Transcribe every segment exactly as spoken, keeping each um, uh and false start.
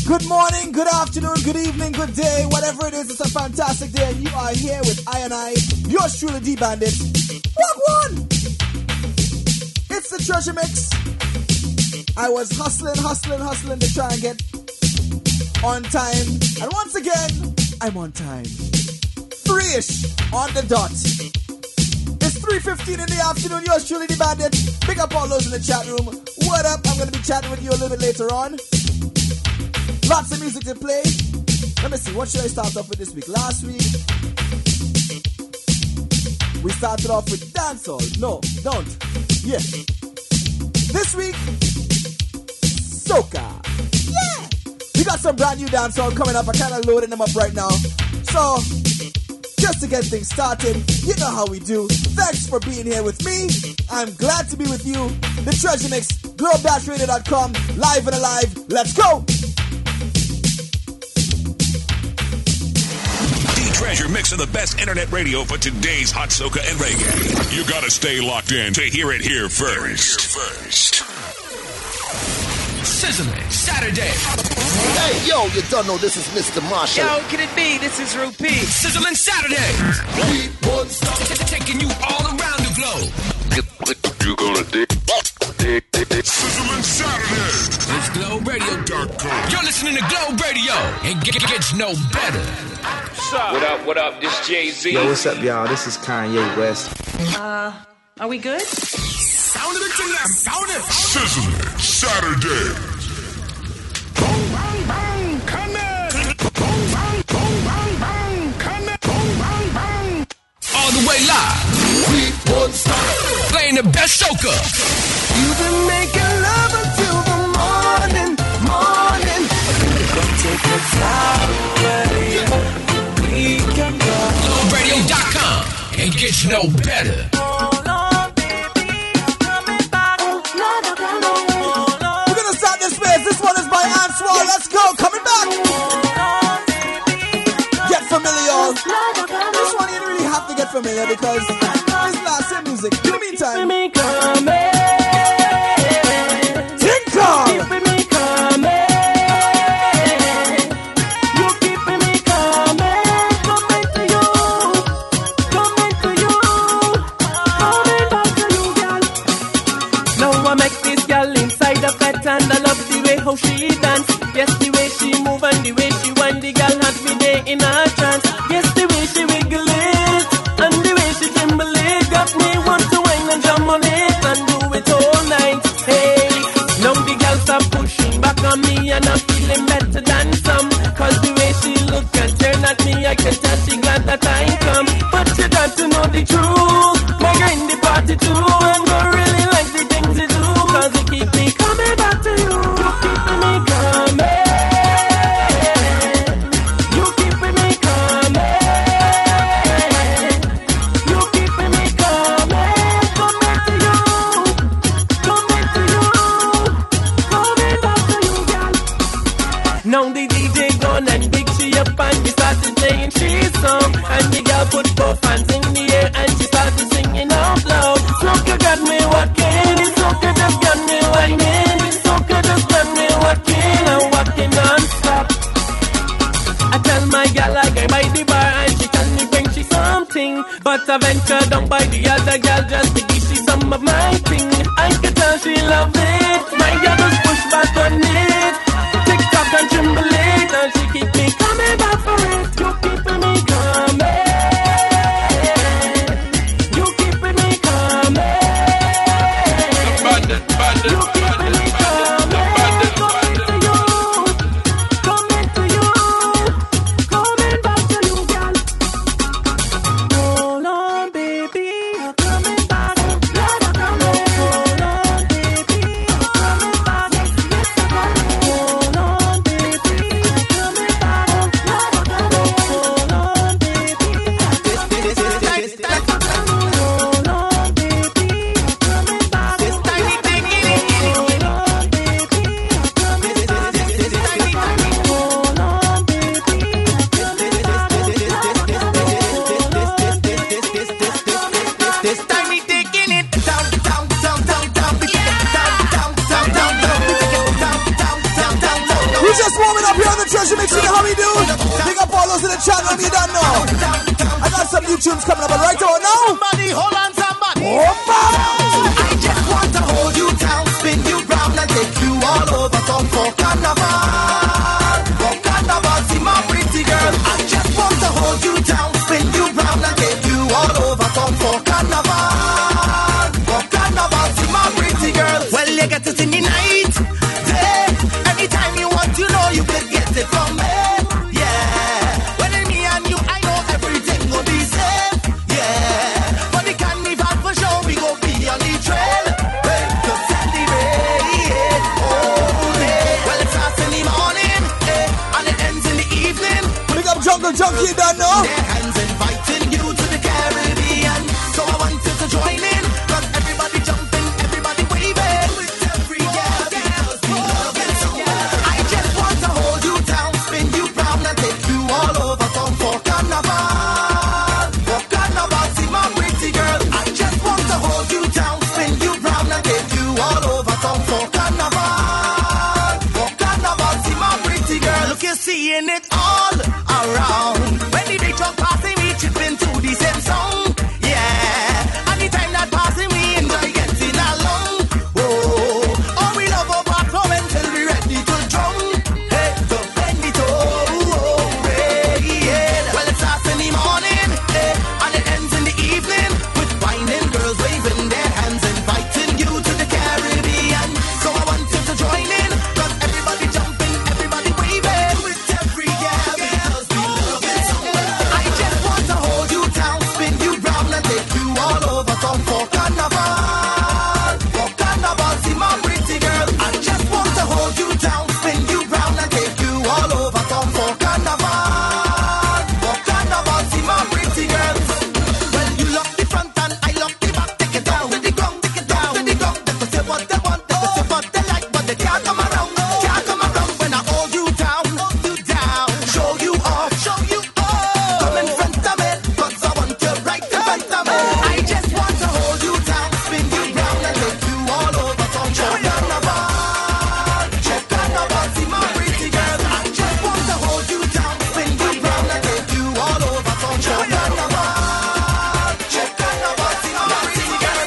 Good morning, good afternoon, good evening, good day, whatever it is, it's a fantastic day, and you are here with I and I, yours truly, D Bandit. Walk one! It's the Treasure Mix. I was hustling, hustling, hustling to try and get on time, and once again, I'm on time. Three-ish on the dot. It's three fifteen in the afternoon, yours truly, D Bandit. Pick up all those in the chat room. What up? I'm going to be chatting with you a little bit later on. Lots of music to play. Let me see, what should I start off with this week? Last week, we started off with dancehall. No, don't. Yeah. This week, soca. Yeah. We got some brand new dancehall coming up. I'm kind of loading them up right now. So, just to get things started, you know how we do. Thanks for being here with me. I'm glad to be with you. The Treasure Mix, globe dash radio dot com, live and alive. Let's go! Treasure mixing the best internet radio for today's hot soca and reggae. You gotta stay locked in to hear it here first. Here first. Sizzling Saturday. Hey, yo, you don't know this is Mister Marshall. Yo, can it be? This is Rupee. Sizzling Saturday. We won't stop taking you all around the globe. You gonna dig? dig, dig, dig. Sizzling Saturday. It's globe radio dot com. You're listening to Globe Radio. It gets no better. What up, what up, this Jay-Z. Yo, what's up, y'all? This is Kanye West. Uh, are we good? Sound it to them, sound it. Sizzling Saturday. Boom, bang, bang, come in. Boom, bang, boom, bang, bang, come in. Boom, bang, bang. All the way live. We won't stop. Playing the best soca. You've been making love until the morning, morning. Don't take the time away. globe radio dot com. It gets no better. We're gonna start this way. This one is by Answar. Let's go. Coming back. Get familiar. This one you don't really have to get familiar because it's last year music. In the meantime, Tinkle. And I love the way how she dance. Yes, the way she move and the way she wind. The girl had me there in a trance. Yes, the way she wiggle it and the way she tremble it got me want to whine and jump on it and do it all night. Hey, now the girl stop pushing back on me and I'm feeling better than some. Cause the way she look and turn at me, I can tell she glad that I come. But you got to know the truth. My girl in the party too and go really like the things you do. Cause it keep me coming back to you. You keeping me coming. You keeping me coming. You keeping me coming. Coming to you. Coming to you. Coming back to you, girl. Now the D J gone and big she up and we started playing she song. And the girl put both hands in the air and she started singing out loud. Soca got me walking. Soca just got me whining. Soca just got me walking and walking non-stop. I tell my gal I go by the bar and she tell me bring she something. But I venture down by the other gal just to give she some of my thing. I can tell she love it. My gal just push back on it. Tick tock and tremble it and she keep me coming back for it. You keeping me coming. You keeping me coming. You keeping me coming. Coming to you. Coming to you. Coming back to you, girl. Hold on, baby. You're coming back. Let her come in. Hold on, baby. You're coming back. Yes, I got it. Hold on, baby. You're coming back. Let her come in. Hold on, baby. This, this, this, this, this. Hold on, baby. You're coming back. This tiny thing in it. Hold on, baby. You're coming back. This tiny thing. Hold on, baby. You're coming back. This tiny dick in it. Down, down, down, down, down, down, down, down, down, down, down, down, down, down, down. we just warming up here. those in the channel, you don't know. I got some new tunes coming up, but right about now. Somebody, hold on, somebody. Opa! I just want to hold you down, spin you round and take you all over town for carnival. For carnival, see my pretty girl. I just want to hold you down, spin you round and take you all over town for carnival. For carnival, see my pretty girl. Well, you get it in the night, day. Anytime you want, you know you can get it from me. Jungle Junkie, don't know. Their hands inviting you to the Caribbean. So I want you to join in. Cause everybody jumping, everybody waving. With every girl, because we love it so. I just want to hold you down, spin you round and take you all over town for carnival. For carnival, see my pretty girl. I just want to hold you down, spin you round and take you all over town for carnival. For carnival, see my pretty girl. Look, you're seeing it all around. When the big truck passing, we chipping to the same song. Yeah, anytime that passing, we enjoy getting along. Oh, oh, we love our platform until we ready to drum. Hey, to bend it oh, yeah. Well, it starts in the morning, hey, and it ends in the evening with whining girls waving their hands, inviting you to the Caribbean. So I want you to join in, cause everybody jumping, everybody waving with every girl. For carnival, for carnival, see my pretty girl. I just want to hold you down, spin you round and take you all over town for carnival. For carnival, see my pretty girl. Well, you lock the front and I lock the back. Take it down to the ground, take it down to the ground. They can say what they want, they can say what they like, but they can't come around, can't come around when I hold you down, hold you down, show you off, show you off. Come in front of me, cause I want you right in front of me. I just want to hold you down, spin you round and take you all over town. Check carnival, check carnival, see my pretty girl. I just want to hold you down, spin you round and take you all over town. Check carnival, check carnival, see my pretty girl.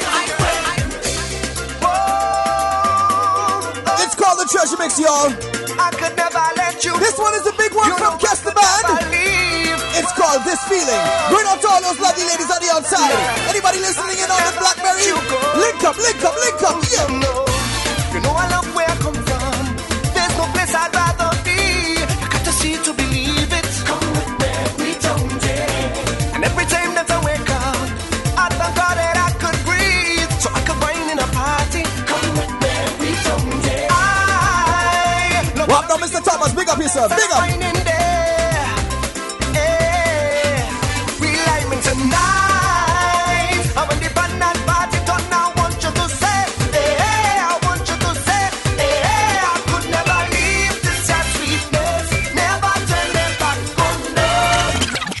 It's called the Treasure Mix, y'all. I could never let you. This one is a big one You from know Guess the I Band. believe. It's called This Feeling. Going out to all those lovely ladies on the outside. Anybody listening in on the Blackberry? Link up, link up, link up, yeah. You know, you know I love where I come from. There's no place I'd rather be. I got to see to believe it. Come with me, we don't dare. And every time that I wake up, I thank God that I could breathe, so I could wine in a party. Come with me, we don't dare. I love What now, Mister Thomas? Big up yourself, big up. wine in there. Yeah, we like tonight. I want the banana party done. I want you to say, hey, I want you to say, hey, I could never leave this sad sweetness. Never turn them back on love.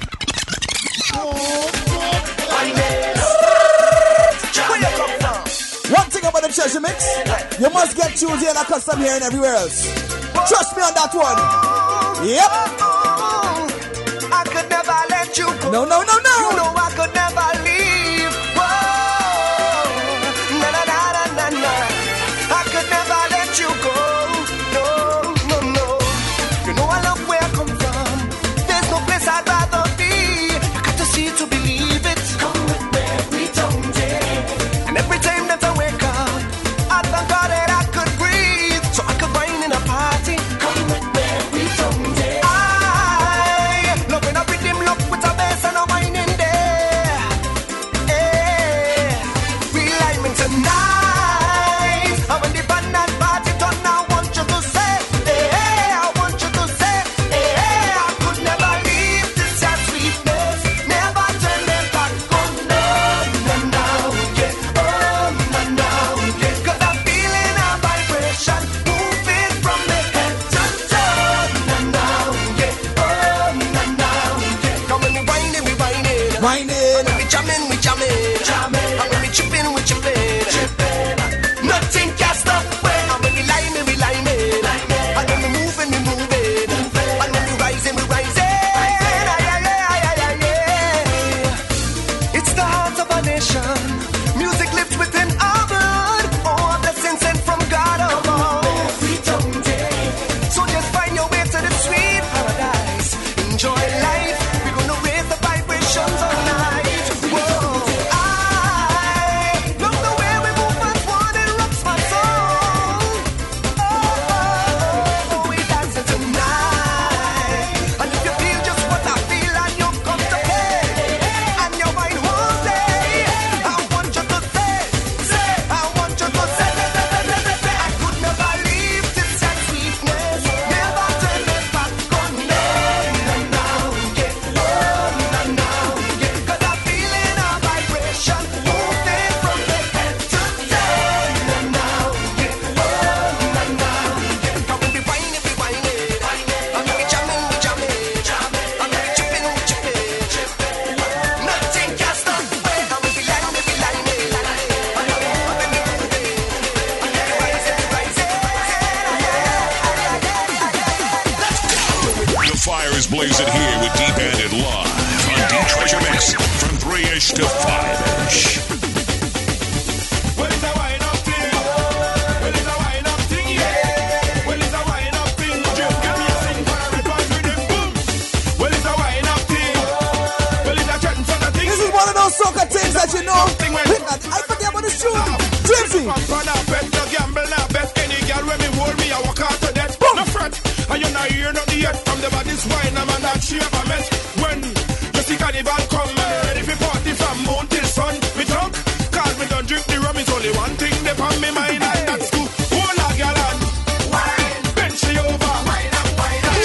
Where you come from? One thing about the Treasure Mix, you must get tunes here like custom here and everywhere else. Trust me on that one. Yep. I could never let you go. No, no, no, no. You know I could never leave. Whoa. Na na na na na na. I could never let you go. No, no, no. You know I love where I come from. There's no place I'd rather be. I got to see to believe it. Come with me, we don't dare. And every time that I wake up, I thank God that I could breathe, so I could wine in a party. Come with me, we don't dare. I love when I rhythm look with a bass and a wine in there. It's the heart of a nation. Music lives within our blood. Oh, a blessing sent from God above. So just find your way to the sweet paradise. Enjoy life. We're gonna raise the vibrations all night. Whoa. I love the way we move as one. It rocks my soul. Oh, oh, oh, we dancing tonight. And if you feel just what I feel and you come to play, and your mind won't stay, I want you to say, say, I want you to say, say, say, say, say, say, I could never leave this and sweetness, never turn it back on. No, no, no, yeah, no, no, no, yeah, 'cause I'm feeling a vibration moving from the head to toe. No, no, yeah, no, no, no, yeah, 'cause we be whining, we whining, and we jamming, we jamming, and we tripping, we tripping. Nothing can stop the way, and we be lining, we be lining, and we moving, and we rising, we rising. The fire is blazing here with D-Bandit live on D-Treasure Mix from three-ish to five-ish. Well, it's a wind-up thing. Well, it's a wind-up thing, yeah. Well, it's a wind-up thing. Just give me a sing for a red one with them boom. Well, it's a wind-up thing. Well, it's a chatting sort of thing. This is one of those soca things that you know. I forget about this tune. Jimsy. Pamper, nah bet, no gamble, nah bet. Any girl when me hold me, I walk out to death. No fret, and you not hear nothing yet from the body's wine. I'm on that shape I met. When you see carnival come, man, ready for party from moon till sun. Me drunk, cause me don't drink the rum. It's only one thing they on me mind, and that's to hold a girl and wine, bend she over, wine up, wine up.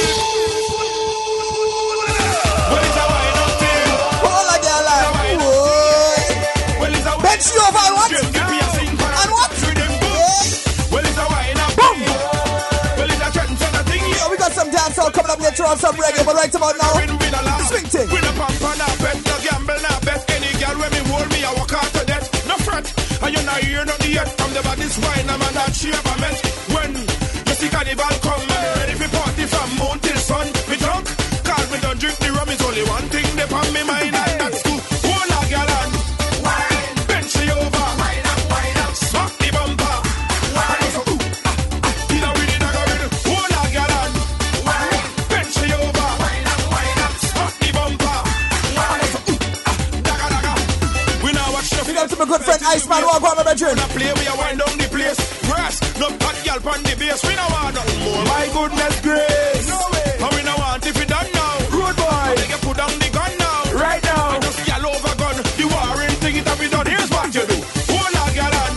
Well, it's a wine up thing. All a girl like, whoa. Well, it's a Bend she over and what? Just give me a sing for a And what? with them boom. Yeah. Well, it's a wine up Boom. thing. Well, it's a chatting sort of thing. So we got some dancehall coming up later on, some reggae, but right about now, Win, win a lot. swing thing. Win a pamper, nah bet, no gamble, nah bet. Any girl when me hold me, I walk out to death. No fret, and you not hear nothing yet from the body's wine. I'm on that shape I met. When you see carnival come, man, ready for party from moon till sun. Me drunk, cause me don't drink the rum. It's only one thing they on me mind, and that's to hold a girl and wine, bend she over, wine up, wine up, smack the bumper, wine. So, ooh, ah, ah, you know we did not go with it. Hold a girl and wine, bend she over, wine up, wine up, smack the bumper, wine. So, ooh, ah, daga, daga. We now watch the Big up to my good friend Iceman, walk on my bedroom. When I play, we a wind down the place. Grass, no hot girl on the base. We no want nothing more. My goodness grace. No way. And we no want if we done now. Rude boy. They can put down the gun now. Right now. And just yell over gun. The warring thing it have been done. Here's what you do. Hold a girl and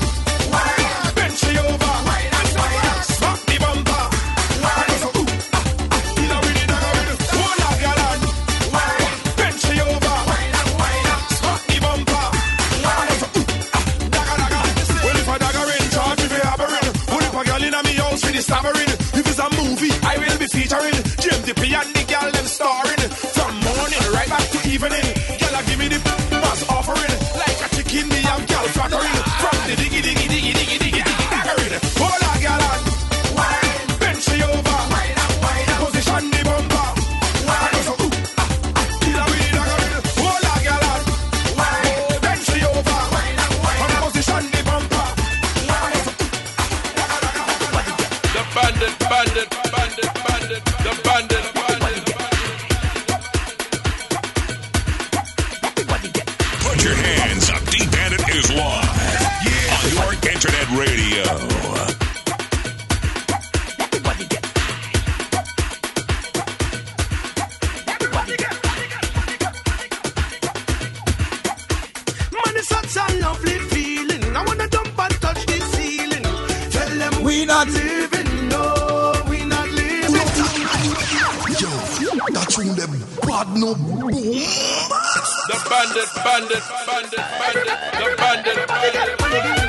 wine. Bend she over. Wine and wine. Smack the bumper. Wine. So, ooh, ah, ah, you know we did not go with it. Hold a girl and wine. Bend she over. Wine and wine. Smack the bumper. Wine. So, ooh, ah, daga, daga. Well, if a dagger in charge, if you have a ring. Well, if a girl in me house with the stabbering. If it's a movie, I will be featuring Jim Dippy and the girl them starring. From morning right back to evening. Girl, I give me the mass offering. Like a chicken, me and girl flattering. From the diggy, diggy, diggy, diggy, diggy, diggy, daggering. Hold a girl and wine. Bend she over. Wine up, wine up. Position the bumper. Wine. So, ooh, ah, ah, kill her with the daggering. Hold a girl and wine. Bend she over. Wine up, wine up. Position the bumper. Wine. So, ooh, ah, daga, daga. The bandit, bandit, bandit, bandit, the bandit, bandit, bandit. Put your hands up. D-Bandit is live on your internet radio. Man, it's such a lovely feeling. I wanna jump and touch the ceiling. Tell them We not living, no, we not living. Yo, that tune them bad no boom. The bandit, bandit, bandit, bandit, the bandit, bandit.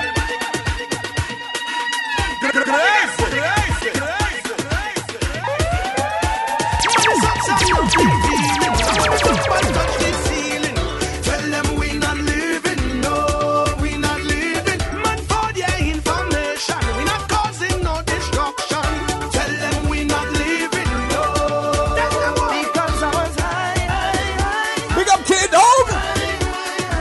Tell them we not living, no, we not living. Man, for their information, we not causing no destruction. Tell them we not living, no, because I was high, high, high. Big up Kid Dog.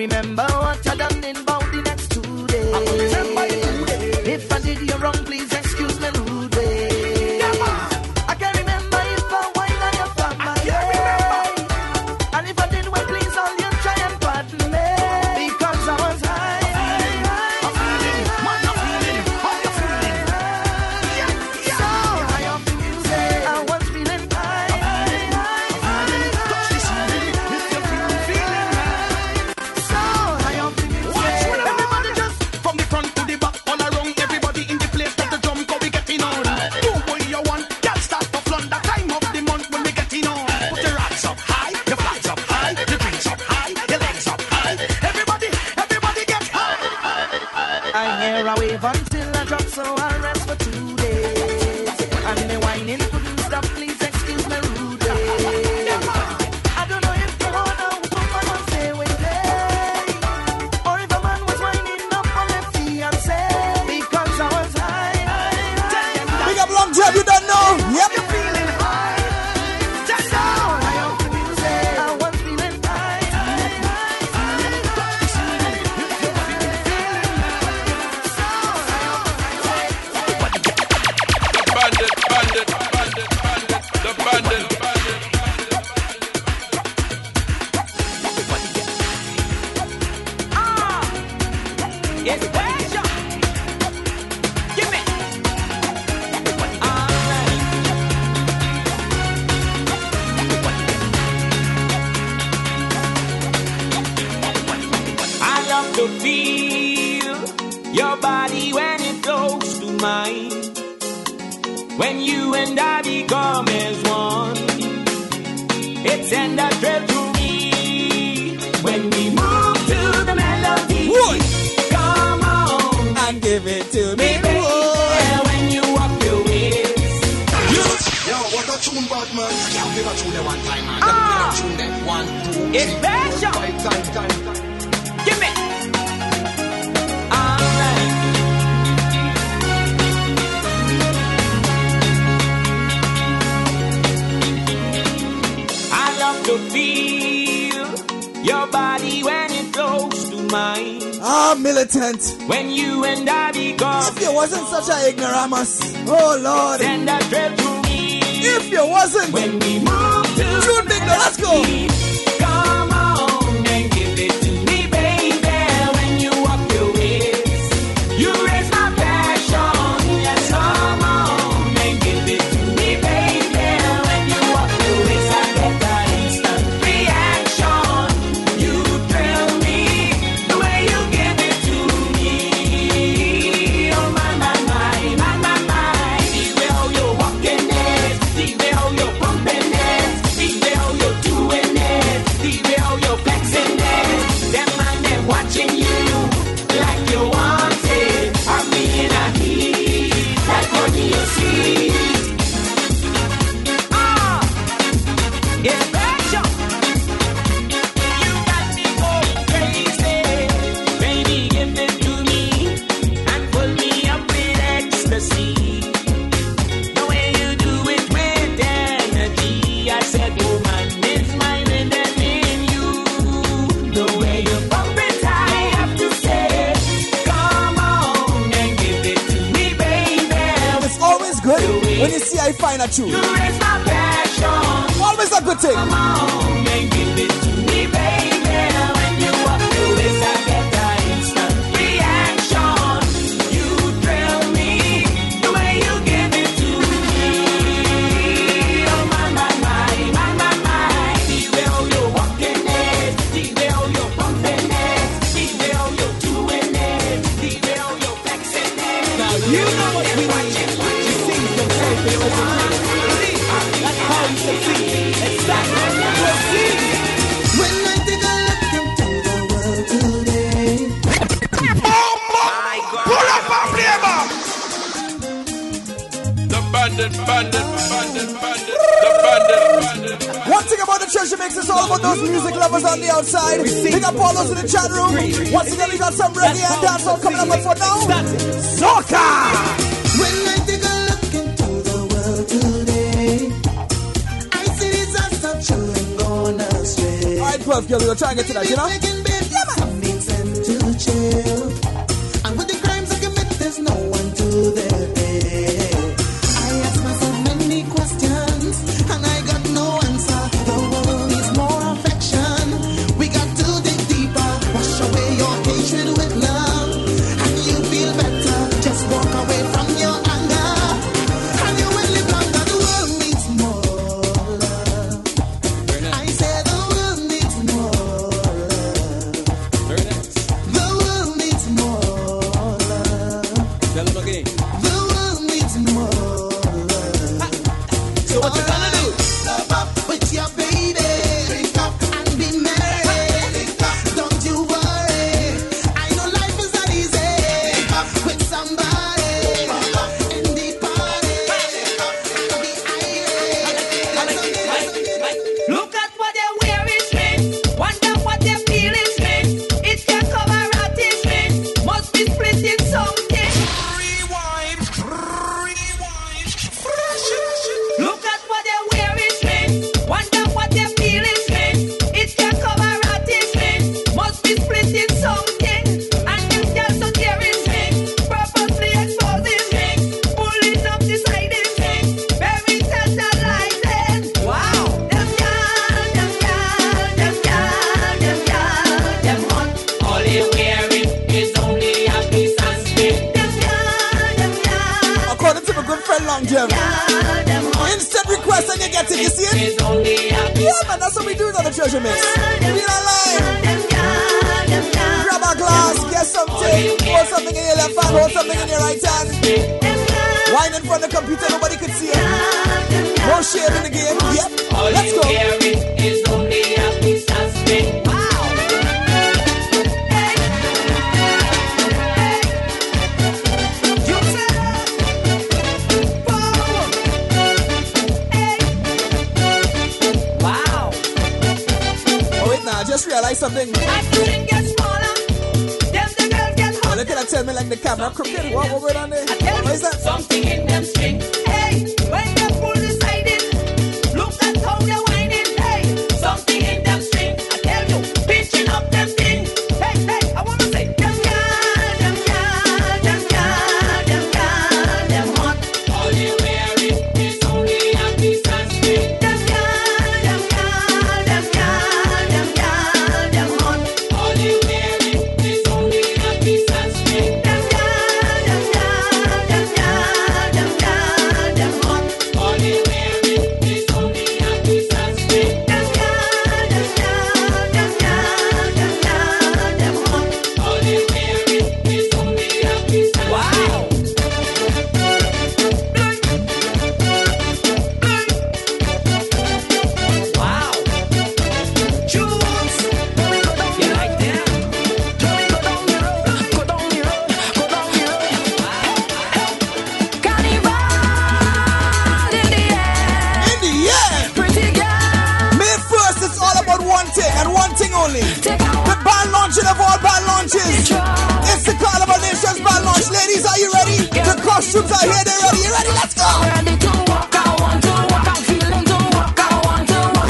remember what I done in about the next two days. If I did you wrong, please excuse me rude way. I can't remember if I wine on your fat my way. And if I did well, please all you try and pardon me. Because I was high. I'm feeling, man, I'm feeling, how you feeling? So high off the music, I was feeling high. Touch the ceiling, if you feel the feeling high. So high off the music. Everybody just from the front to the back, all around, everybody in the place, let the drum go, we getting on. Do what you want, can't start to flaunt the time of the month when we getting on. Put your hands up high, your flags up high, your drinks up high, your legs up high. Everybody, everybody get high. I hear a wave until I drop, so I'll rest for two days. And the whining couldn't stop, please excuse me rude way. I don't know if you want a woman on stay with me, or if a man was winding up on a fiancé. Because I was high, high, high. Big up Long Job, you don't know. Yep. You're feeling high. Just so high off the music. I was feeling high, high, high. Touch the ceiling if you're feeling, feeling high. So high off the music. Bandit, bandit, bandit, bandit, the bandit, bandit. It's pleasure. Give me. I love to feel your body when it close to mine. When you and I become as one, it's in the thrill to me. When we move to the melody, Wood. come on And give it to me. baby. Yeah, when you walk your ways. Yo, what a tune, Batman. Can't give a tune there one time, man. Ah. Give a tune there. One, two, It's three, pleasure. four, five, time, time, time. Give me. Alright. I love to feel your body when it close to mine. Ah, militant. When you and I become If you wasn't such a ignoramus. Oh, Lord. send a thrill to me. If you wasn't. When we move to Tune big now, let's go. come on and give it to me, baby. When you walk your ways, you raise my passion. Yes, come on and give it to me, baby. When you walk your ways, I get that instant reaction. You thrill me the way you give it to me. Oh my, my, my, my, my, my. See the way how you're walking it, see the way how you're pumping it, see the way how you're doing it, see the way how you're flexing it. Them man, them watching you like you want it. I'm in a heat like money you see. Ah, it's passion. You got me going crazy. Baby, give it to me and pull me up with ecstasy. The way you do it with energy. I said, woman, it's my rhythm in you. The way you pump it, I have to say, come on and give it to me, baby. It's always good when you see I find a tune. You raise my passion. Always a good thing. Come on and give it to me, baby. When you walk through this, I get that instant reaction. You thrill me the way you give it to me. Oh my, my, my, my, my, my. See the way how you're walking it, see the way how you're pumping it, see the way how you're doing it, see the way how you're flexing it. Now you know what we want. You see them say they open. That's how you succeed. Exactly. Proceed. When I take a look into the world today, Pull up a flavor. The bandit, bandit, bandit, bandit, the bandit, bandit. One thing about the treasure mix is all about those music lovers on the outside. Big up all those in the chat room. Once again, we got some reggae and dancehall coming up, but for now, soca. when I take a look into the world today, I see disaster children gone astray. All right, twelve girl, we're trying to get to that, you know? Making babies, Yeah, man. chill. And with the crimes I commit, there's no one to their aid. I ask myself many questions, and I got no answer. The world needs more affection. We got to dig deeper, wash away your hatred with love, and you feel better. Just walk away from your anger, and you will live longer. The world needs more love. I say the world needs more love. The world needs more love. Tell them again. The world needs more love. So what you gonna do? Love up with your baby. Drink up and be merry. Don't you worry. I know life is not easy. With somebody in the party. Be irate. Look at what they're wearing, straight. Wonder what they're feeling, straight. It can cover up this straight. Must be splitting something. Rewind, rewind. Look at what they're wearing, straight. Wonder what they're feeling, straight. It can cover up this straight. Must be splitting something. And them girls so daring, straight. Purposely exposing, straight. Pulling up the siding, straight. Very tantalizing. Wow. Them girls, them girls, them girls, them girls, them hot. All they wearing is only a piece of skin. Them girls, them girls, According to my good friend Long Jim. girls, them hot. Instant request and you get it, you see it? Is only a piece Yeah, man, that's what we do on the Treasure Mix. We in our line. them girls, them girls, Grab a glass, get something, hold something in your left hand, hold something in your right hand. them girls, Wine in front of the computer, nobody could see it. No shame in the game. Yep. all Let's you go. wearing is only a piece of skin. Wow. Hey. Hey. You said Whoa. Hey. Wow. Oh, wait, now, I just realized something. As the thing gets smaller, them the girls get Oh, hotter. look at that, tell me like the camera crooked. What, what going on there? I tell What you is that? something in them string. Hey, when they pull the side in, look at how they're whining. Hey, something in them string. I tell you, pinching up them thing. Hey, hey, I wanna say, them girls, them girls, them girls, them girls, them hot. All you wearing is only a piece of string. Them girls, them girls, them girls, them girls, them hot. All you wearing is only a piece of string. Them girls, them girls, them girls, them girls, them hot. All you wearing is only a piece of string. Them girls, them girls, them girls, them girls, them hot. All you wearing is only a piece of wow. Wow. Jules, you like that? Go down the road, go down the road, go down the road. Carnival in the air, In the air. pretty girl. May first, it's all about one thing and one thing only. Take out The band launching of all band launches. It's the Carnival Nations band launch. Ladies, are you ready? The costumes are here, they're ready. You ready? Let's go. ready to walk. I want to walk. I'm feeling to walk. I want to walk.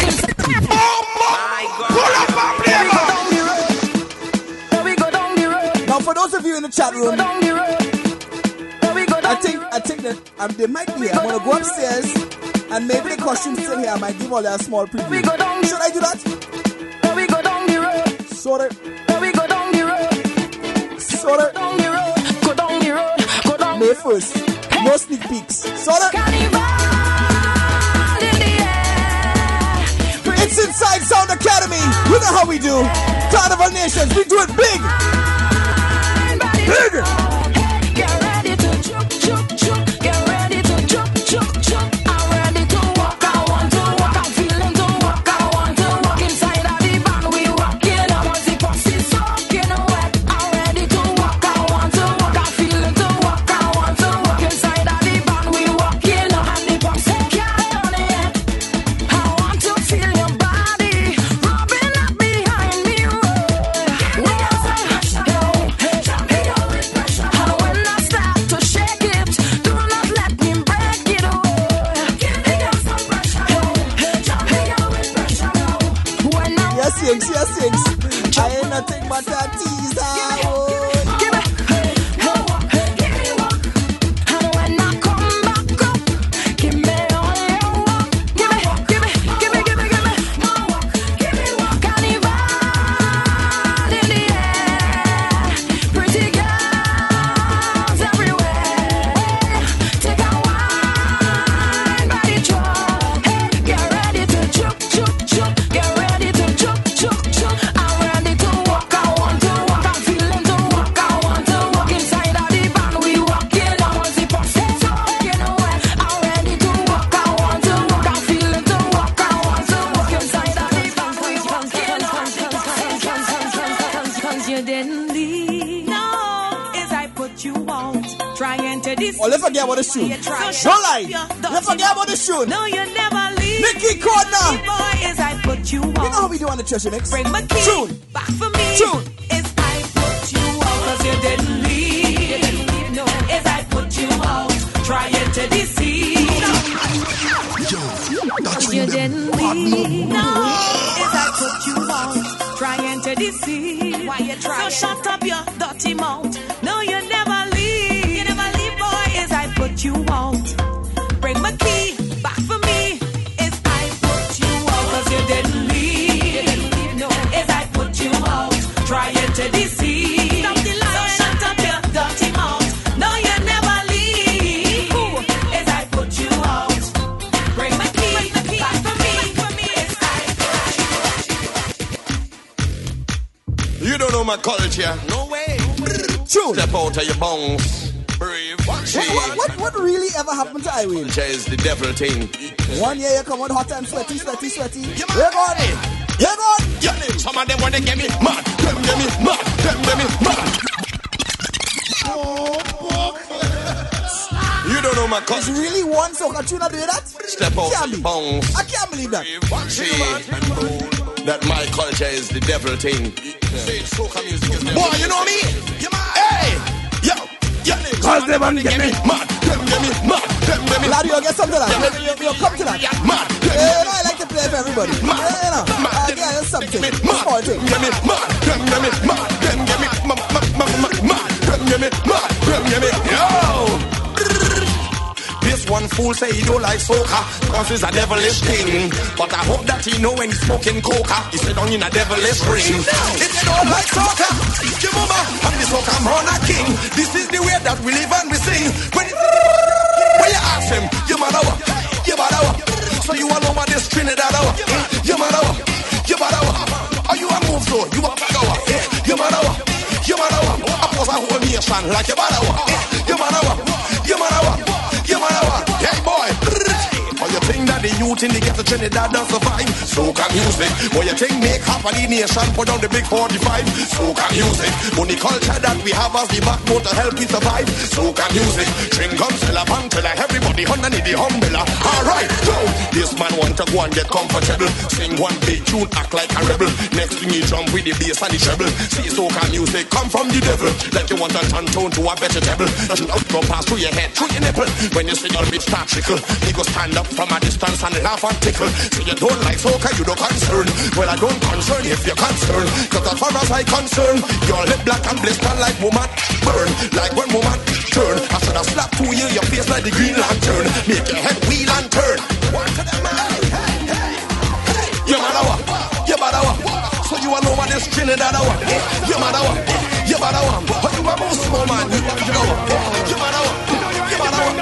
Pull up and play, man. We go down the road. Now, for those of you in the chat Go room, down the road. We go I down think I think that um, they might be here. I'm gonna go upstairs and maybe the costume's still here. I might give all a small We preview. go down the Should I do that? We go down the road. Sort of, We go down the road. sort of. Down the road. Go down the road. Go down May first. No sneak peeks. Sort of. Carnival in the air. It's inside Sound Academy. You know how we do. Carnival Nations. We do it big. Big. Get ready to juke, juke, juke. Get ready to juke, juke, juke. I'm ready to walk. I want to walk. I'm feeling to walk. I want to walk inside of the band. We rocking up. Once the bus is soaking wet. I'm ready to walk. I want to walk. I'm feeling to walk. I want to walk inside of the band. We rocking up. And the bus is carrying it. I want to feel your body rubbing up behind me. Roll. Yo, hey, hey, yo, put you out. Try enter this. Oh, let's forget about the shoe. Don't lie. Let's forget about the shoe. No, you never leave. Nicky Corner. Boy, is I put you out. You know how we do on the Treasure Mix? Bring my key Tune. back for me. Tune. Is I put you out. Cause you didn't leave. You didn't leave, no. Is I put you out. Try enter this sea. Yo, that's You didn't leave. No. Is I put you out. Try enter this sea. Why you try? So shut up your dirty mouth. No, you never leave. You never leave, boy. Is I put you out. Bring my key back for me. Is I put you out. Cause you didn't leave. You didn't leave, no. Is I put you out. Try enter this sea. Stop the lie. So shut up your dirty mouth. No, you never leave. Ooh. Is I put you out. Bring my key back for me. For me, is I put you out. You don't know my culture. No way. Tune. Step out of your bones. Brave. What, what, what, what really ever happened to Iwin? Culture is the devil thing. One year you come out hot and sweaty, sweaty, sweaty. You're gone. You're gone. Yeah, some of them want to get me mad. Them get me mad. Them get me mad. You don't know my There's culture. really one soca tune that do that? Step out Can't of be. your bones. I can't believe that. See that my culture is the devil thing. Boy, you know me? Hey! Yo! Yo! Cause them want to get me mad. Them get me mad. Them get me Lad, you'll get some to that. You'll, you'll, you'll come to that. mad. Yeah, you know, I like to play for everybody. Yeah, you know. Uh, yeah, that's something. Small thing. Get me mad. Them get me mad. Them get me mad. Mad. Them get me mad. Them get me. Yo! This one fool say he don't like soca, cause he's a devilish king. But I hope that he know when he's smoking coca, he sit down in a devilish ring. If you don't like soca, give mama, I'm the soca man a king. This is the way that we live and we sing. When, it, when you ask him, you matter what, you matter what. So you all over this Trinidad hour, you matter what, you matter what. Are you a move so, you a back hour, you matter what, you matter what. I pose a whole nation like you matter what, you matter what, you matter what. You matter what? Hey boy! Or you think that the youth in the ghetto Trinidad don't survive? Soca music. Or you think make half of the nation put on the big forty-five? Soca music. Only culture that we have as the backbone to help we survive. Soca music. String guns, till a pantella, everybody underneath the umbrella. Alright, so this man want to go and get comfortable. Sing one big tune, act like a rebel. Next thing you jump with the bass and the treble. See soca music come from the devil. Like you want to turn tone to a vegetable. Doesn't out go pass through your head, through your nipple. When you see your bitch start trickle, he go stand up from a distance and laugh and tickle. So you don't like soca, you don't concern. Well, I don't concern if you're concerned. Cause as far as I concern, your lip black and blister like woman burn. Like when woman turn, I should have slapped to you, your face like the Green Lantern. Make your head wheel and turn. One to them, hey, hey, hey, hey. You matter what, you matter what. So you all over this Trinidad hour. You matter what, you matter what. But you a most small man, you matter what, you matter what, you matter what.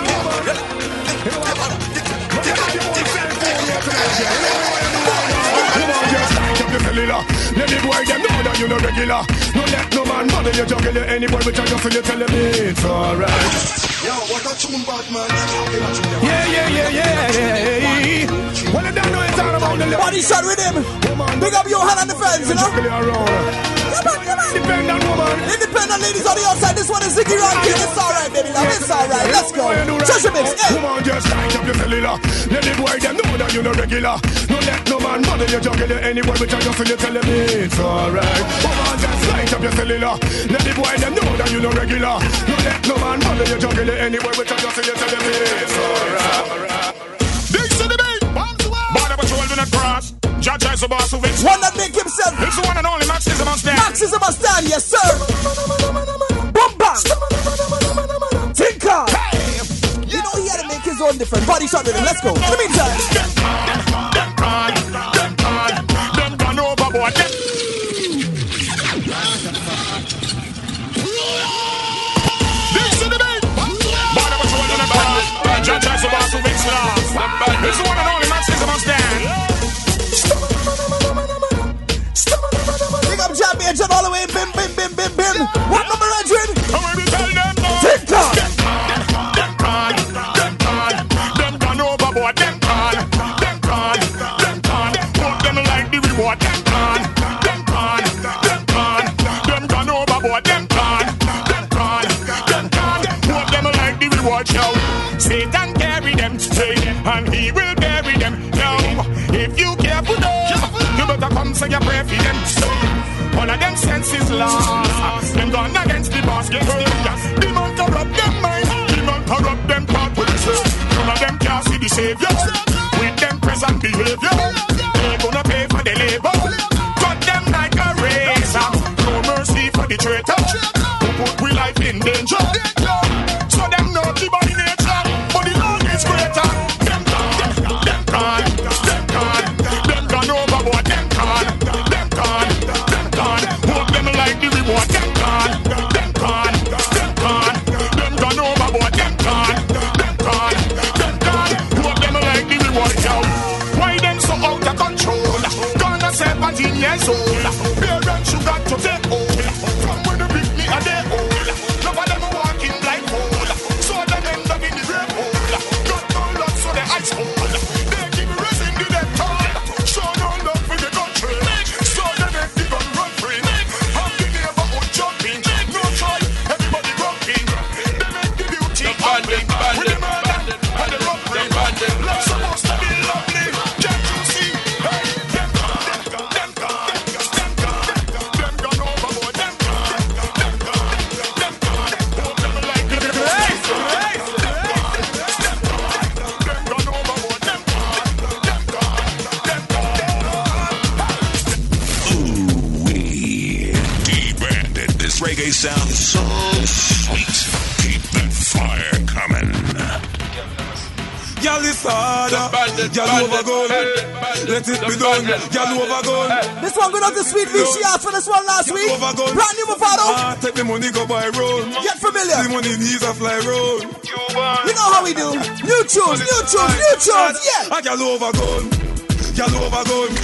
Let the boy them know that you no regular. No let no man bother you, juggle you. Any boy which I just you tell him it's alright. Yo, what a tune, bad man. Yeah, yeah, yeah, yeah, yeah. Well, I don't know it's all about the love. Body shot with him. Big up your hand on the fence, you know. Come on, come on. Independent woman. Independent ladies on the outside. This one is Ziggy Rankin. It's alright, baby. Love. It's alright. Let's go. Treasure Mix. Hey. Come on, just light up your cellular. Let the boy them know that you no regular. No let no man bother you, juggle you. Any boy which I just you tell him it's alright. Come on, just light up your cellular. Let the boy them know that you no regular. No let no man bother you, juggle you. Any boy which I just you tell him it's alright. This is the beat. Border Patrol do not cross. Judge is the boss who wins. One that make himself. It's the one and only Max is a must stand. Max is a must stand, yes sir. Boom bang. Tinker. Hey. You know he had to make his own different body shot with him. Let's go. In the meantime. Them gone, them gone, them gone overboard. This is the beat. Border Patrol do not cross. Judge is the boss who wins last. It's the one and only Max is a must stand. Big up Jam Agent all the way. Bim, bim, bim, bim, bim. What number one hundred? TikTok. Them gone, them gone, them gone overboard. Them gone, them gone, them gone. Put them like the reward. Them gone, them gone, them gone, them gone overboard. Them gone, them gone, them reward, yo. Satan carry them, hey, and he will bury them, yo. If you care for them, you better come say your prayer for them. All of them senses lost. Them gone against the boss, get hurt. Demon corrupt them mind, demon corrupt them thought with the none of them can't see the savior. With them present behavior, they gonna pay for the labor. Cut them like a razor. No mercy for the traitor who put we life in danger. So them know the body nature, but the Lord is greater. Them gone, them gone, them gone, them gone overboard. Them gone, them gone, them gone. Hope them like the reward. Them gone, them gone, them gone, them gone overboard. Them gone, them gone, them gone. Hope them like the reward. Yo, why them so out of control? Gonna seventeen years old. Parents you got to take hold. From when the big me are they old. None of them walking like old. So them end up in the grave hole. Got no love so they ice cold. They give me raising the dead tall. Show no love for the country. So they make the gun run free. Have the neighborhood jumping. No choice, everybody grumping. They make the beauty bandit, bandit, bandit, and the robbery. Love supposed to be lovely. Can't you see? Hey, them gone, them gone, them gone, them gone overboard. Them gone, them gone, them gone. Hope them like the them gone, them gone overboard. Them gone, them gone, them gone. Ooh-wee. D-Bandit. This reggae sound is so sweet. Keep that fire coming. Y'all is harder, y'all overgone. Let it be done, y'all overgone. This one going out to Sweet V. She asked for this one last week. Brand new Mavado. Ah, take the money, go buy road. Get familiar. The money needs a fly road. You know how we do. New tunes, new tunes, new tunes, yeah. Ah, y'all overgone, y'all overgone.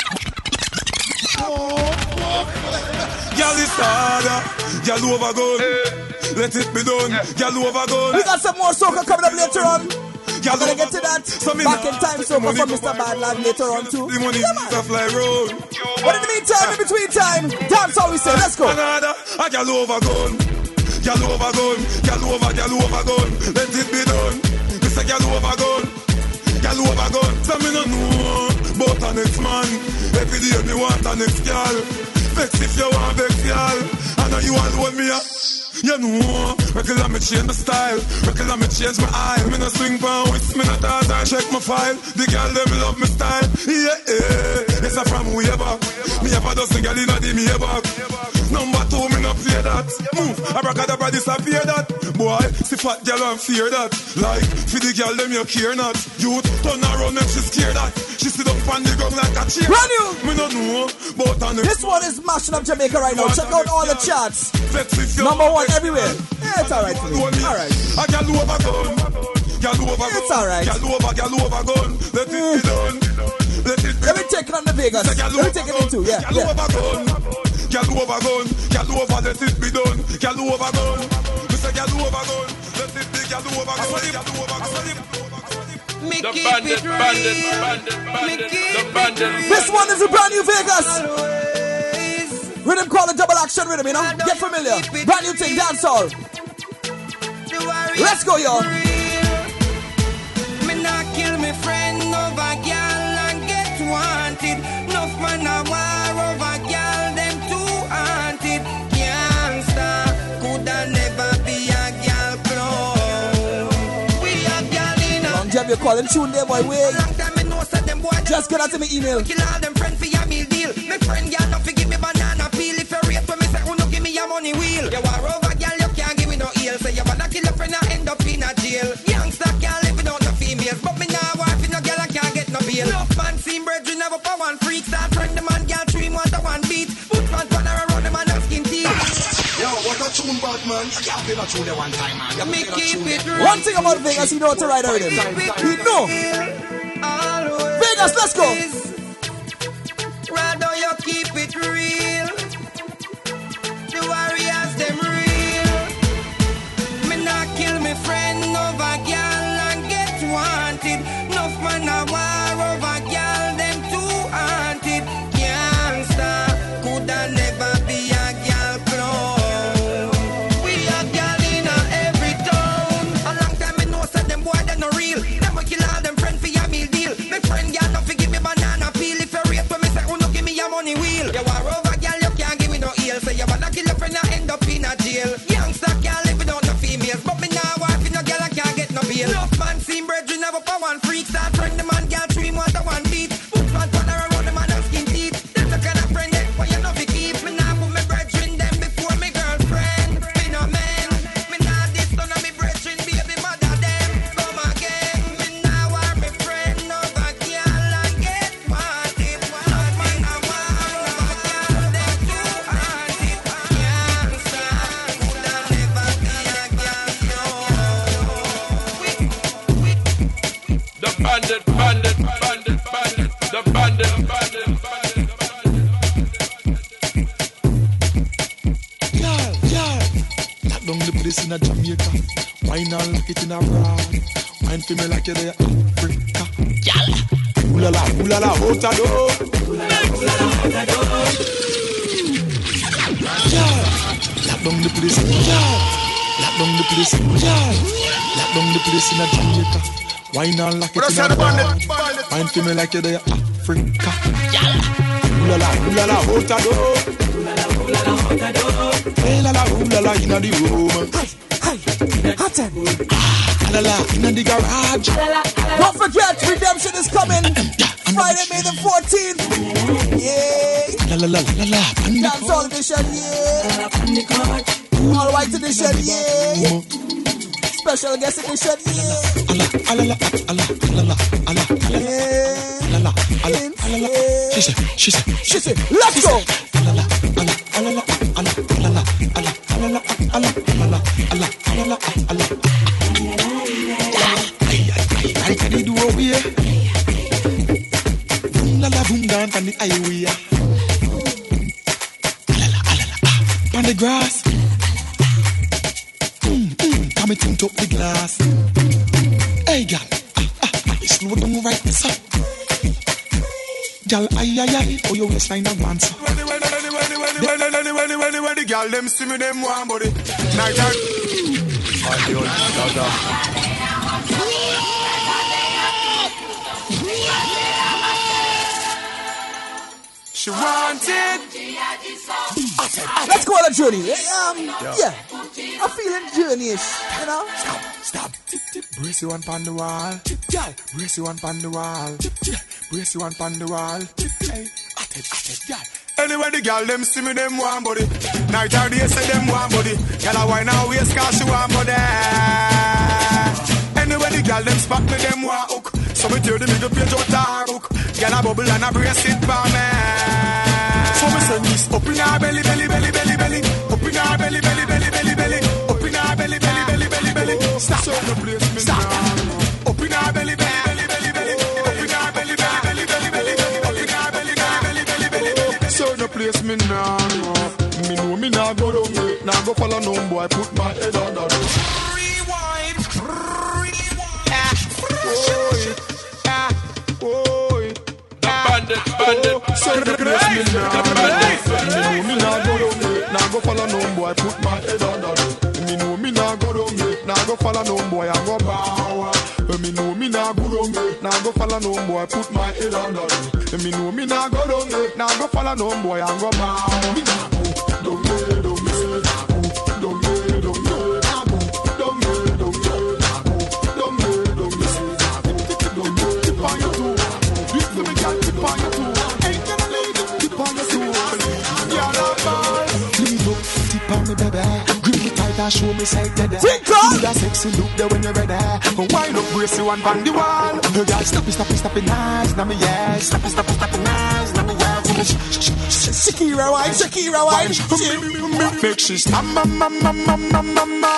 Y'all is harder, y'all overgone. Let it be done, y'all overgone. We got some more soca coming up later on. Y'all gonna get to that. So Back in time soca from Mister Badland later on too. The money needs a fly road. But in the meantime, in between time, dance how we say. Let's go. Another, ah, y'all overgone. Y'all overgone, y'all over, y'all overgone. Let it be done. This a y'all overgone, y'all overgone. So me no know about a next man. Every day me want a next girl. Vex if you want vex girl. I know you alone me a. You know, regular me change my style, regular me change my eye. Me no swing pound with me no dance and check my file. The girl them love me style, yeah, yeah. It's a from way back. Me have a dozen girl inna the me back. Number two, me no play that. Move, abracadabra disappear that. Boy, see fat girl and fear that. Like, for the girl them you care not. Youth, turn around and she scared that. She sit up on the ground like a chair. Brand new. Me no know, but on the this one is mashing up Jamaica right now. Check out all the charts. Number one everywhere. Yeah, it's alright for me. Alright. I can do over gun. Can do over gun. It's alright. Can do over, can do over gun. Let it be done. Let it be Let me take it on the Vegas. Let me take it in too. Yeah, can do yeah. over gun. Can do over gun. Can do over, let it be done. Can do over gun. Mister Can do over gun. Let it be, can do over gun. Can do over gun. The bandit, bandit, bandit, bandit, the bandit. This one is a brand new Vegas. Rhythm call it double action rhythm, you know? Get familiar. Brand new thing, dancehall. Let's go, y'all. Me not kill me friend over girl and get wanted. Enough man a war over girl, them too haunted. Can't stop, coulda never be a girl clone. We a girl in a Long Jam, you calling tune there, boy, wait. long time me know say them boy Just get out to me email. kill all them friends for your meal deal. Me friend girl not forgive me banana peel. If you rape when me say who no give me your money wheel. You war over girl, you can't give me no heel. Say you wanna kill a friend and end up in a jail. Youngster can't live without no females, but me now wife in no girl I can't get no bail. Enough man seen brethren never for one freak. Start friend the man girl dream want a one beat. Put man pan around the man and skin teeth. Yo, what a tune, bad man. I can't play that tune there one time, man. You Me play that keep tune it there. real. One thing about Vegas, you know how to ride a rhythm. You know. Always. Vegas, let's go. Rather you keep it real. The warriors them real. Me not kill me friend over girl and get wanted. Enough man a war over girl, them too haunted. Can't stop, coulda never be a girl clone. We a girl in a every town. A long bandit, bandit, bandit, bandit, the bandit, bandit, bandit, Yeah, yeah. Lock down the place in a Jamaica. Why not lock it in a broad? Wine for me like you're there Africa. Yeah. Ooh la la, ooh la la, out a door. Ooh la la, ooh la la, out a door. Yeah. Lock down the place, yeah. Lock down the place, yeah. Lock down the place in a Jamaica. Why not lock it in a broad? Wine for me like you're there Africa. Yeah. Ooh la la, ooh la la, out a door. Ooh la la, ooh la la, out a door. Hey la la, ooh la la, inna the room. Hi, hi, hot ten. Ah, la la, inna the garage. Don't forget, redemption is coming. Friday, May the fourteenth. Yeah. La la la la la. Dance all edition, yeah. All white edition, yeah. Special guest edition, yeah. Ala, ala, ala, ala, ala, ala, ala, yeah. ala, ala, ala. She said, she said, she said, let's go. Ala, ala, ala, ala, ala, ala, ala, ala, ala, ala, ala, ala. Ay, ay, ay, ay, can you do over here? Boom, la la, boom, down on the highway. Ala, ala, ala, on the grass. Mm, mm, come and tint up the glass. Hey, gal, ah, ah, ah, slow down right this up. Gal, ay, ay, ay, oh, your waistline a once. When the, when the, when the, when the, when the, when the, when the, when the, when the, when the gal them see me, them want body. Night out. She wanted. Let's go on a journey. Um, yeah. yeah. I'm feeling journey-ish, you know? Stop, stop. Tip, tip. Brace you one pon the wall. Tip, yeah. Brace you one pon the wall. Tip, yeah. Brace you one pon the wall. Tip, hey. At it, at it, yeah. Anyway, the girl them see me, them want body. Night or day say them want body. Girl a wine and waist cause she want body. Anyway, the girl them spot me, them want hook. So me tear the middle page out her hook. Girl a bubble and a brace it for me. So me send this up in her belly, belly, belly, belly, belly. Up in her belly, belly, belly, belly, belly. Up in her belly, belly, belly, belly, belly. Stop. Stop. Up in her belly, belly, belly, belly, belly. Up in her belly, belly, belly, belly, belly. Up in her belly, belly, belly, belly, belly. So the place me now, me know me now go down me, now go follow no boy, put my head on the door. Rewind, rewind, ah, ah, oh, the bandit, bandit. So the place me now, me know me now go down me, now go follow no boy, put my head on the door. Me know me now go down me, now go follow no boy, I go bow. Me know me now go down me, now go follow no boy, put my head on the door. Me know me now go down me, now go follow no boy, I go bow. Me now go down me, down me, down me, down me, down me, down me, down me, down me, down me, down me. Tip on your toe, this to me girl, tip on your toe. Ain't gonna leave it, tip on your toe. You're a boy. Leave up, tip on me, baby. Grip me tight and show me side to the. Do that sexy look there when you're ready. Wind up, brace you and bang the wall. Girl, stop it, stop it, stop it, nice. Now me yes, stop it, stop it, stop it, nice. Now me yes. Shakira wine, Shakira wine. Make she stop, ma ma ma ma ma ma ma.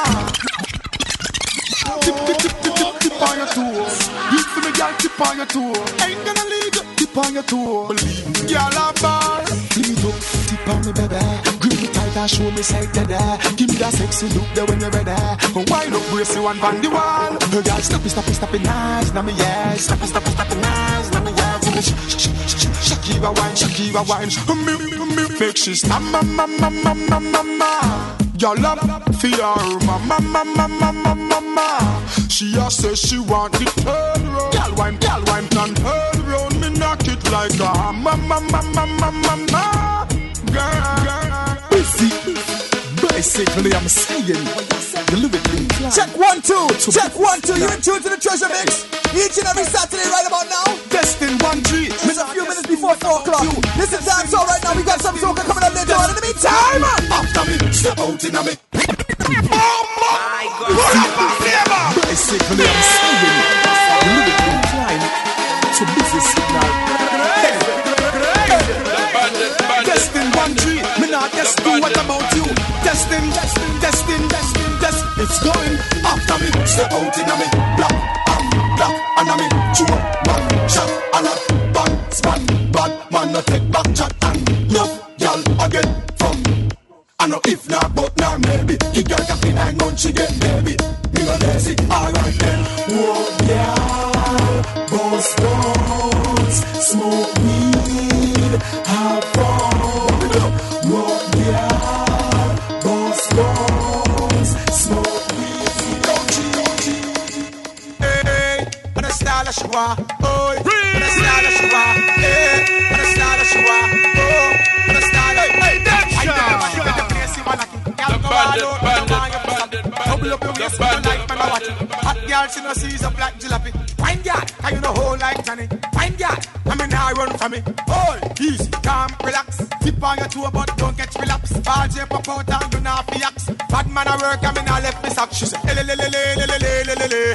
Tip tip tip tip tip tip on your toe. Hit for me, girl, tip on your toe. Ain't gonna leave you, tip on your toe. Girl, a bar. Lead up, tip on me, baby. Grip me tight and show me side to there. Give me that sexy look there when you're ready. Wind up, brace you and bang the wall. Girl, stop it, stop it, stop it, nice. Now me yes, stop it, stop it, stop it, nice. Now me yes. Shakira wine, Shakira wine. Make she stop, ma ma ma ma ma ma ma. Y'all love for her, ma ma ma ma ma ma ma ma. She a say she want the turn round. Y'all wine, y'all wine, turn her round. Me knock it like a ma ma ma ma ma ma ma. Girl, girl, busy, basically I'm saying. Check one, two, check one, two. You're in tune to the Treasure Mix each and every Saturday right about now. Destin one G. It's a few minutes before four o'clock. This is dance all right now. We got some soca coming up later on. In the meantime, after me, step out in a me. My God, basically I'm saying. Lyric incline to busy signal. Destin one G. Me not just do what about you. Destin, Destin, Destin, Destin, Destin. It's going after me. Step out in a me. Black, black, and a me. Chew up. crazy. Alright then. Whoa, yeah. Boss bones, smoke weed, have fun. Whoa, yeah. Boss bones, smoke weed. Hey, when I style a shower, oh, when I style a shower, hey, when I style a shower, oh, when I style a, hey, that shot. The bandit, bandit, bandit, bandit, up your waist, like man, I watch it. Hot girl, she no sees a black jalopy. Wine girl, I you know whole like Johnny. Wine girl, I mean I run from me. All easy, calm, relax. Tip on your toe, but don't get relapse. Ball J pop out and do not fi axe. Bad man I work, I mean I left me sock. She say, le le le le le le le le le.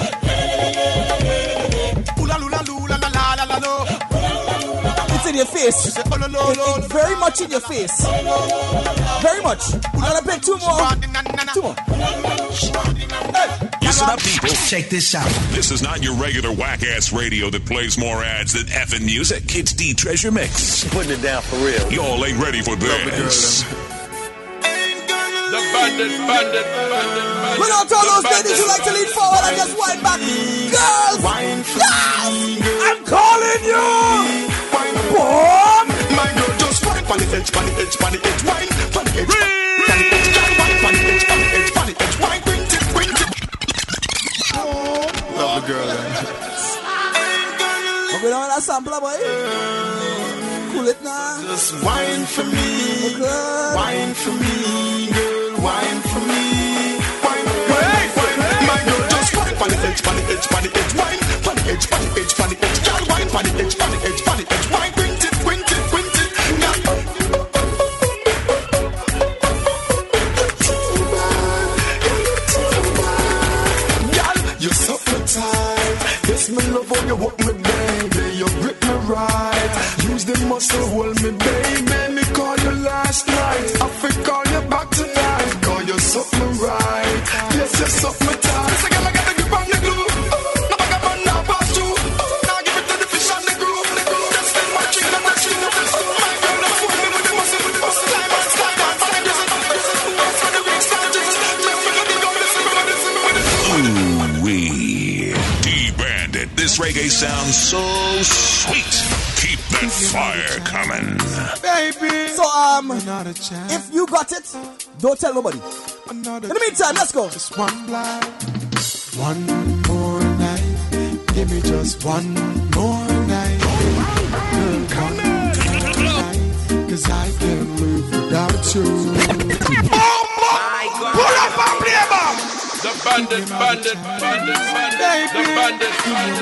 Oola lula lula la la la la la. It's in your face. She say, oh, lo, lo, lo, it's very much in your face. Very much. I'm gonna play two more. Two more. Listen up, people. Check this out. This is not your regular whack-ass radio that plays more ads than effing music. It's the Treasure Mix. Putting it down for real. Y'all ain't ready for this. The bandit, bandit, bandit, bandit. Without all those ladies who like to lean forward and just wind back. Girls! Girls! I'm calling you! Boom! My girl just wine on the edge, on the edge, on the edge, wine on the edge, on the edge, wine on the edge, on the edge, on the edge, wine, bring it, bring it. Love the girl. I'm going on that sampler, boy. Cool it now. Just wine for me, okay. Wine for me, girl, wine for me. Wine, wine, wine. My girl just wine on the edge, on the edge, on the edge, wine on the edge, on the edge, on the edge, girl, wine on the edge, on the edge, on the edge, wine, bring it, bring it, bring it. You're so tight. Yes, me love how you walk me, baby. You grip me right. Use the muscle, hold me, baby. Me call you last night. I feel call you back tonight. Call you something right. Yes, you're something tight. This again, I got the grip on the glue. Now I got one now pass through. Now give it to the fish on the groove. Just spend my drink, I'm not shooting up the school. My girl, now fool me with the muscle, with the muscle. Slime on, slime on, slime on, slime on, slime on, slime on, slime on, slime on. D-Bandit, this reggae sounds so sweet. Keep that fire coming. Baby. So, um, if you got it, don't tell nobody. In the meantime, let's go. Just one blind, one more night. Give me just one more night. Girl, come on. Cause I can't live without you. Pull up and play back. The bandit, bandit, bandit, bandit, the bandit,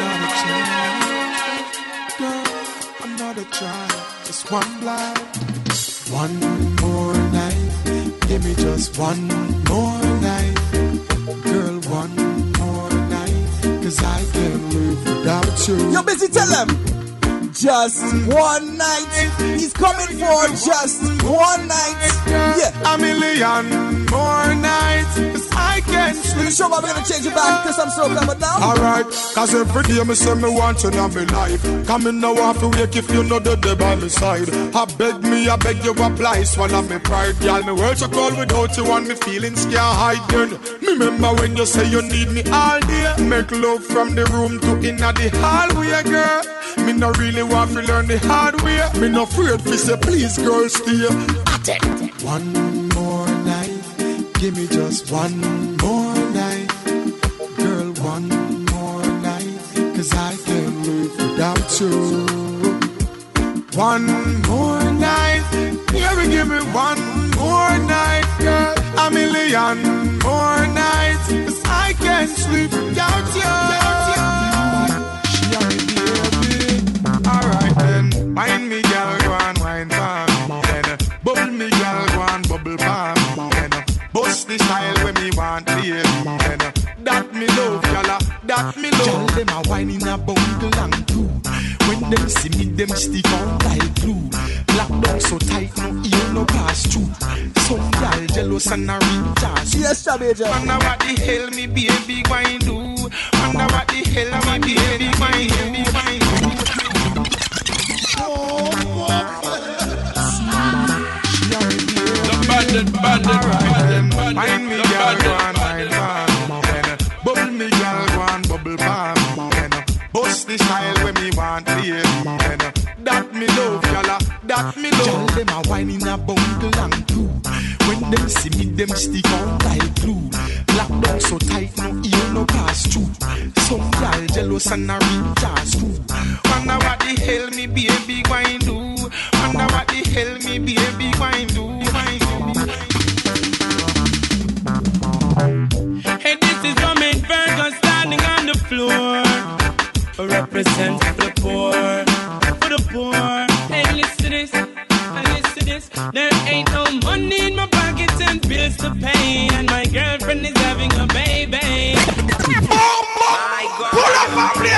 bandit. Girl, another try, just one blind, one more night. Give me just one more night. Girl, one more night. Cause I can't live without you. You're busy, tell them. Just one night. He's coming for just one night. Yeah. A million more nights. Cause I can't sleep. Sure, we're gonna change it back to some soca, but now. Alright, cause every day me say me want you in my life. Come in now off to wake if you know the day by my side. I beg me, I beg you apply. Swallow me pride, girl. Me world so cold without you and me feelings can't hide. Girl, me remember when you say you need me all day. Make love from the room to inna the hallway, girl. Me no really want to learn the hard way. Me no afraid to say please, girl, stay at it. One more night, give me just one more night. Girl, one more night, cause I can't live without you. One more night, yeah, we give me one more night, girl. A million more nights, cause I can't sleep without you. Alright then, wine me girl, go and wine palm. Then bubble me girl, go and bubble palm. Then bust the style when me want baby. Then that me love, y'all, that me love. Y'all them a wine in a bungle and two. When them see me, them stick on like glue. Lock down so tight, no ear no pass through. Some y'all jealous and a reach us. Yes, Shabby. Wonder what the hell me baby going do. Wonder what the hell my baby going do. Bandit, bandit, bandit, bandit, Mind me, girl, go and wine, bubble me, want, baby. And uh, that me love, y'all. That me love. Y'all them a wine in a bundle and glue. When them see me, them stick on like glue. Lock down so tight, no ear, no pass through. Some y'all jealous and a reach us too. Wonder what the hell me baby going do. Wonder what the hell me baby going do. Hey, this is Roman Virgo standing on the floor. Represent the poor, for the poor. Hey, listen to this, hey, listen to this. There ain't no money in my pockets and bills to pay, and my girlfriend is having a baby. Oh, my God. Pull up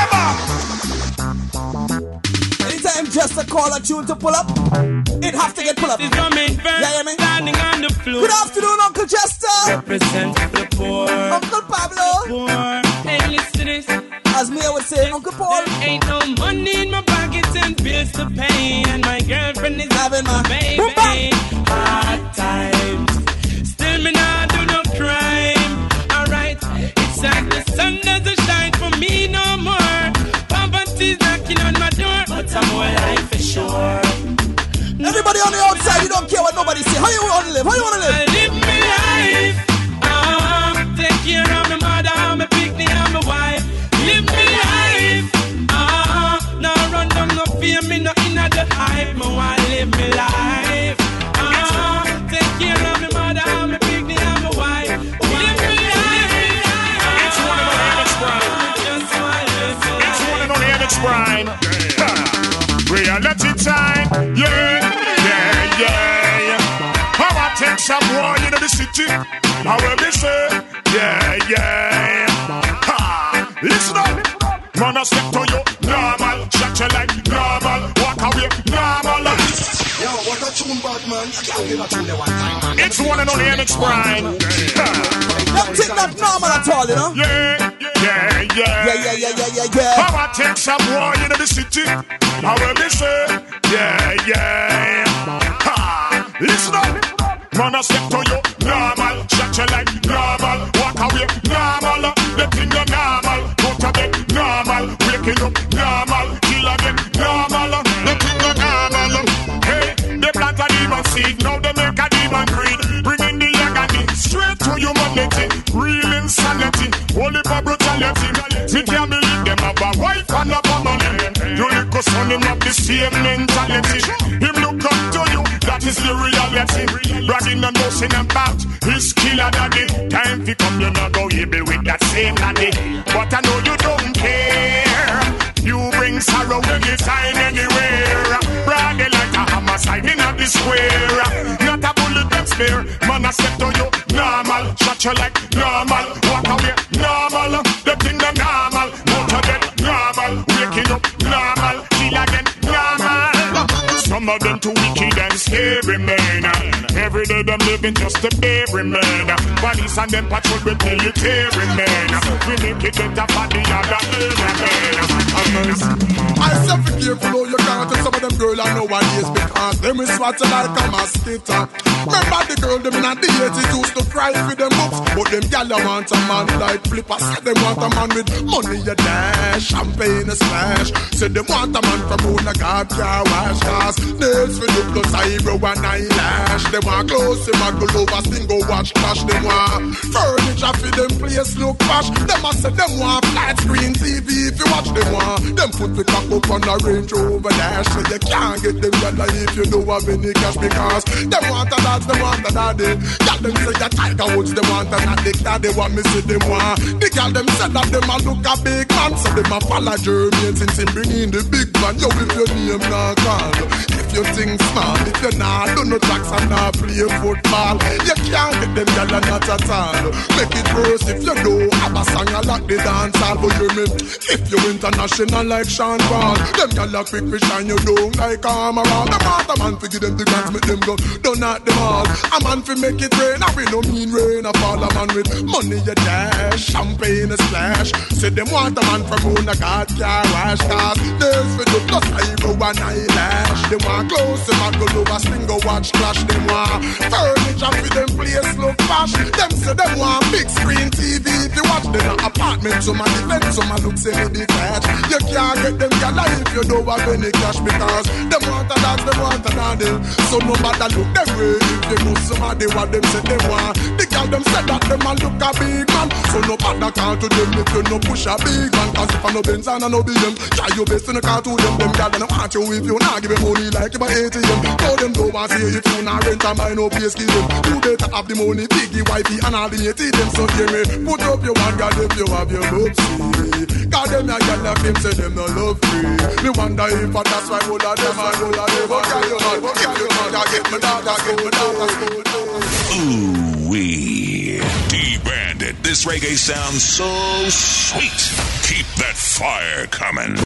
my flavor. Anytime just a call a tune to pull up, it have to get pull up. This is Roman Virgo yeah, yeah, standing on the floor. Good afternoon, Uncle Chester. Represent the poor, Uncle Pablo. The poor. Hey, listen to this. As me, I would say, Uncle Paul. There ain't no money in my pockets and bills to pay, and my girlfriend is having my baby. Hard times, still me not do no crime. Alright, it's like the sun doesn't shine for me no more. Poverty's knocking on my door, but I'm more life for sure. Everybody on the outside, you don't care what nobody say. How you want to live? How you want to live? I live my life. Oh, take care of my mother, my picnic, and my wife. Live me life, ah, uh, no run down, no fear me, no inna the hype. Me want live me life, ah, uh, take care of me mother, me picnic and my wife. Live me life. It's one and only Alex Bryan. It's one and only Alex Bryan. Reality time, yeah, yeah, yeah. How I take some war into the city, how will they say, yeah, yeah. Listen up, man, I step to you, normal. Shut you like normal, walk away, normal. Yo, what a tune, bad man. I can't give a tune one time. It's one and only Alex Bryan. Don't think that normal at all, you know? Yeah, yeah, yeah. Yeah, yeah, yeah, yeah, yeah, yeah. How I take some war into the city, how will they say, yeah, yeah. Ha. Listen up, man, I step to you, normal. Shut you like normal, walk away, normal. The thing you normal, go to bed, normal. Waking up, normal. Kill again, normal. The thing you normal. Hey, they plant a demon seed, now they make a demon breed. Bring in the agony, straight to humanity. Real insanity, holy for brutality. Me can't believe them have a wife and a family. You little son, him have the same mentality. Him look up to you, that is the reality. Bragging and boasting about his killer daddy. Time fi come, you not go able with that same daddy. But I know you don't care. You bring sorrow anytime, anywhere. Bragging like a hammer sliding at the square. Not a bullet that spare. Man, I step to you, normal. Shut you like normal. Walk away, normal. The thing that normal. Motor dead, normal. Waking up, normal. Kill again, normal. Some of them too wicked and scary, man. Every day them living just a baby, man. Police and them patrol with military, man. We make it better for the other man. I say be careful how you can't tell some of them girls I nowadays because them is swat like a mosquito. Remember the girl them in the eighties used to cry for them books, but them gyal want a man like Flipper. Say them want a man with money a dash, champagne a splash. Say them want a man from who the God car wash cars. Nails for you plus eyebrow and eyelash. They want clothes, they want go over, sting go watch clash. They want furniture for them place look posh. Them a say them want flat screen T V if you watch them want. Them put the cock up on the Range Rover dash. So you can't get them yellow if you don't have any cash because them want a dance, them want a daddy. Got them say a Tiger Woods, they want a daddy. Daddy want me see them want. The girl them said that them a look a big man, so them a follow Jermaine since him bring in the big man. Yo, if your name not call, if you think small, if you not do no tracks and not play football, you can't get them yellow not at all. Make it worse if you do have a song like the dance hall. But you mean if you international like Sean Paul, them gyal quick we shine you down like armor. Them want a man fi give them the grants, make them go down at them all. A man fi make it rain, and we no mean rain. A fall a man with money a dash, champagne a splash. Say them want a man from who the God car wash cars. Nails fi do plus eyebrow and eyelash. They want clothes, they want go over, sling go watch clash. They want furniture fi them place look posh. Them say them want big screen T V if you watch them apartment. Some a defend, some a look semi-detached. You can't get them gal if you don't have any cash because them want to dance, them want to dance. So no matter look them way if they know somebody what them say they want. The gal them said that them man look a big man. So no matter call to them if you no push a big man. Cause if I no Benz and I no B M, try your best in the car to them. Them gal don't want you if you not give them money like you buy A T M. Tell them don't want to see if you not rent a mine no place give them. You better have the money, biggie, wifey and all the eighty them. So hear me, put up your one gal if you have your love free. Cause them a gal like them say them no love free. Me wonder if that's why all of them and all of them. But can you not, but can you not get me daughter, get me daughter. Ooh-wee. D-Bandit. This reggae sounds so sweet. Keep that fire coming.